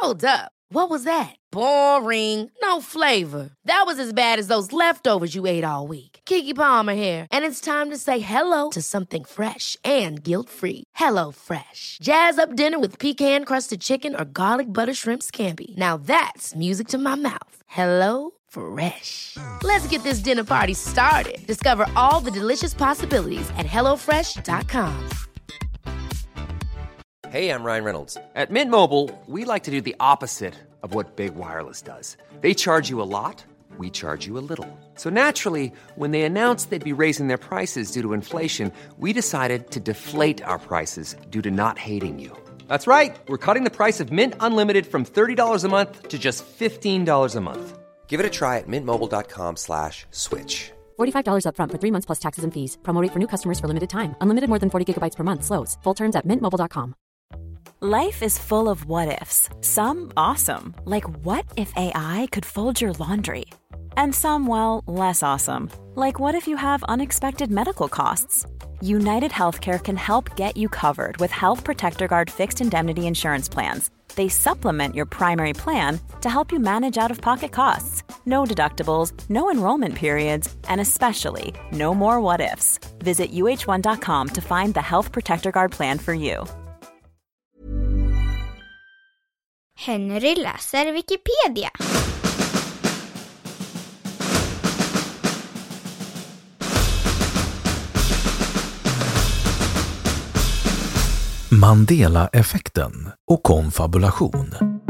Hold up. What was that? Boring. No flavor. That was as bad as those leftovers you ate all week. Keke Palmer here, and it's time to say hello to something fresh and guilt-free. Hello Fresh. Jazz up dinner with pecan-crusted chicken or garlic butter shrimp scampi. Now that's music to my mouth. Hello Fresh. Let's get this dinner party started. Discover all the delicious possibilities at hellofresh.com. Hey, I'm Ryan Reynolds. At Mint Mobile, we like to do the opposite of what Big Wireless does. They charge you a lot, we charge you a little. So naturally, when they announced they'd be raising their prices due to inflation, we decided to deflate our prices due to not hating you. That's right. We're cutting the price of Mint Unlimited from $30 a month to just $15 a month. Give it a try at mintmobile.com/switch. $45 up front for 3 months plus taxes and fees. Promo rate for new customers for limited time. Unlimited more than 40 gigabytes per month. Slows full terms at mintmobile.com. Life is full of what-ifs. Some awesome, like what if AI could fold your laundry? And some, well, less awesome, like what if you have unexpected medical costs? United Healthcare can help get you covered with Health Protector Guard fixed indemnity insurance plans. They supplement your primary plan to help you manage out-of-pocket costs. No deductibles, no enrollment periods, and especially no more what-ifs. Visit uh1.com to find the Health Protector Guard plan for you. Henry läser Wikipedia. Mandela-effekten och konfabulation.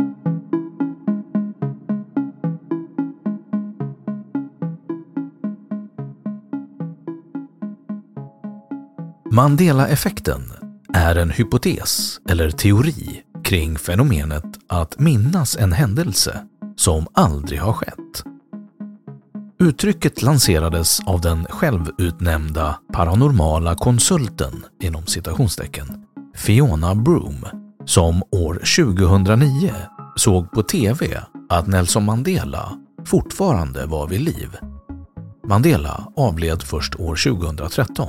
Mandela-effekten är en hypotes eller teori kring fenomenet att minnas en händelse som aldrig har skett. Uttrycket lanserades av den självutnämnda paranormala konsulten inom citationstecken Fiona Broom, som år 2009 såg på TV att Nelson Mandela fortfarande var vid liv. Mandela avled först år 2013.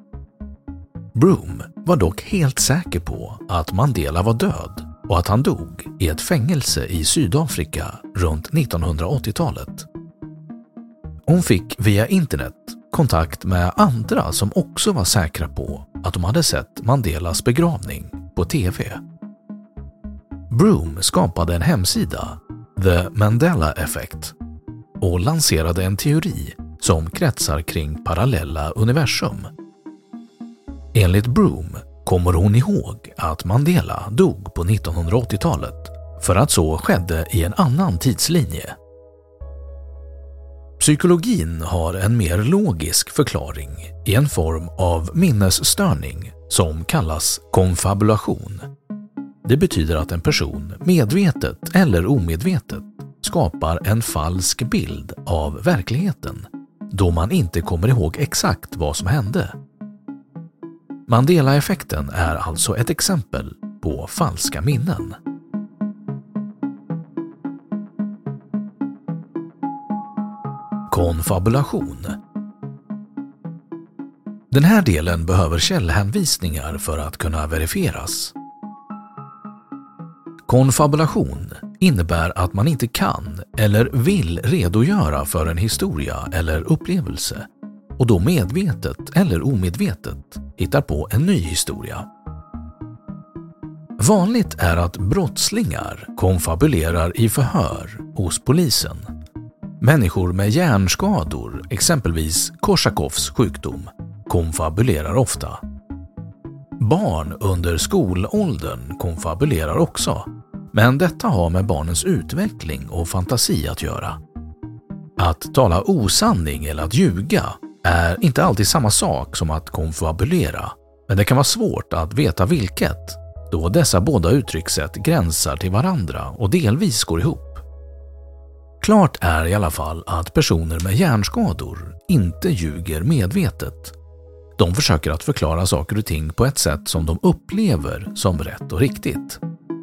Broom var dock helt säker på att Mandela var död och att han dog i ett fängelse i Sydafrika runt 1980-talet. Hon fick via internet kontakt med andra som också var säkra på att de hade sett Mandelas begravning på TV. Broom skapade en hemsida, The Mandela Effect, och lanserade en teori som kretsar kring parallella universum. Enligt Broom kommer hon ihåg att Mandela dog på 1980-talet för att så skedde i en annan tidslinje. Psykologin har en mer logisk förklaring i en form av minnesstörning som kallas konfabulation. Det betyder att en person medvetet eller omedvetet skapar en falsk bild av verkligheten då man inte kommer ihåg exakt vad som hände. Mandela-effekten är alltså ett exempel på falska minnen. Konfabulation. Den här delen behöver källhänvisningar för att kunna verifieras. Konfabulation innebär att man inte kan eller vill redogöra för en historia eller upplevelse och då medvetet eller omedvetet hittar på en ny historia. Vanligt är att brottslingar konfabulerar i förhör hos polisen. Människor med hjärnskador, exempelvis Korsakoffs sjukdom, konfabulerar ofta. Barn under skolåldern konfabulerar också, men detta har med barnens utveckling och fantasi att göra. Att tala osanning eller att ljuga är inte alltid samma sak som att konfabulera, men det kan vara svårt att veta vilket, då dessa båda uttryckssätt gränsar till varandra och delvis går ihop. Klart är i alla fall att personer med hjärnskador inte ljuger medvetet. De försöker att förklara saker och ting på ett sätt som de upplever som rätt och riktigt.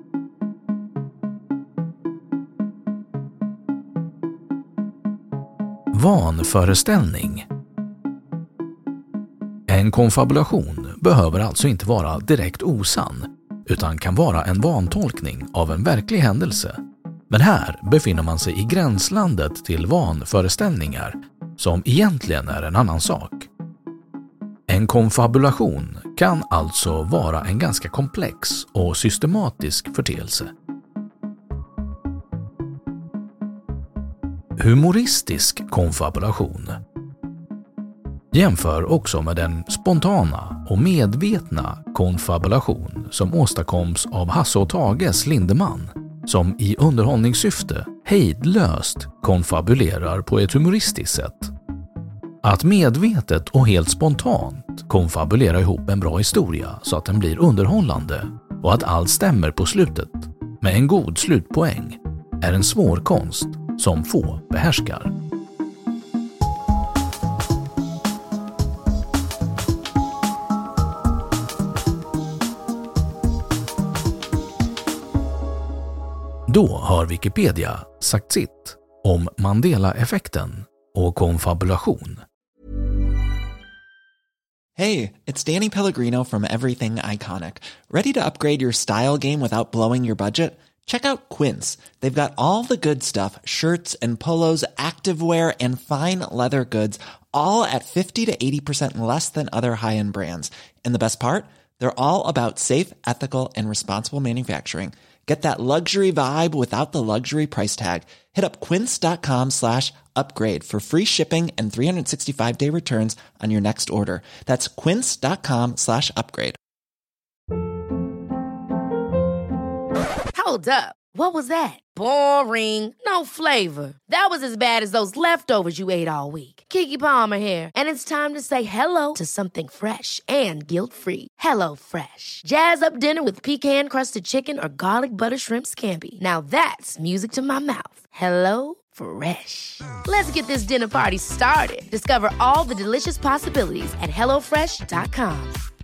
Vanföreställning. En konfabulation behöver alltså inte vara direkt osann, utan kan vara en vantolkning av en verklig händelse. Men här befinner man sig i gränslandet till vanföreställningar som egentligen är en annan sak. En konfabulation kan alltså vara en ganska komplex och systematisk företeelse. Humoristisk konfabulation. Jämför också med den spontana och medvetna konfabulation som åstadkoms av Hasse och Tages Lindeman, som i underhållningssyfte hejdlöst konfabulerar på ett humoristiskt sätt. Att medvetet och helt spontant konfabulera ihop en bra historia så att den blir underhållande och att allt stämmer på slutet med en god slutpoäng är en svår konst som få behärskar. Då har Wikipedia sagt sitt om Mandela-effekten och konfabulation. Hey, it's Danny Pellegrino from Everything Iconic. Ready to upgrade your style game without blowing your budget? Check out Quince. They've got all the good stuff, shirts and polos, activewear and fine leather goods, all at 50 to 80% less than other high-end brands. And the best part? They're all about safe, ethical and responsible manufacturing. Get that luxury vibe without the luxury price tag. Hit up quince.com/upgrade for free shipping and 365-day returns on your next order. That's quince.com/upgrade. Hold up. What was that? Boring. No flavor. That was as bad as those leftovers you ate all week. Keke Palmer here, and it's time to say hello to something fresh and guilt-free. Hello Fresh. Jazz up dinner with pecan-crusted chicken or garlic butter shrimp scampi. Now that's music to my mouth. Hello Fresh. Let's get this dinner party started. Discover all the delicious possibilities at hellofresh.com.